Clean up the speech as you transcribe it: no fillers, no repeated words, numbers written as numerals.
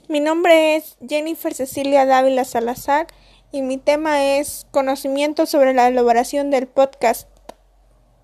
Mi nombre es Jennifer Cecilia Dávila Salazar y mi tema es conocimiento sobre la elaboración del podcast.